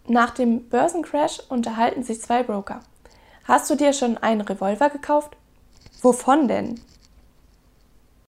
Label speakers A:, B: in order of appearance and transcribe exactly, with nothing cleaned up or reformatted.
A: Nach dem Börsencrash unterhalten sich zwei Broker. Hast du dir schon einen Revolver gekauft? Wovon denn?